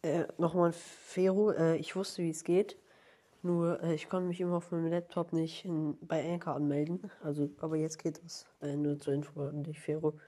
Nochmal, Fero, ich wusste, wie es geht. Nur, ich konnte mich immer auf meinem Laptop nicht bei Anchor anmelden. Also, aber jetzt geht es. Nur zur Info an dich, Fero.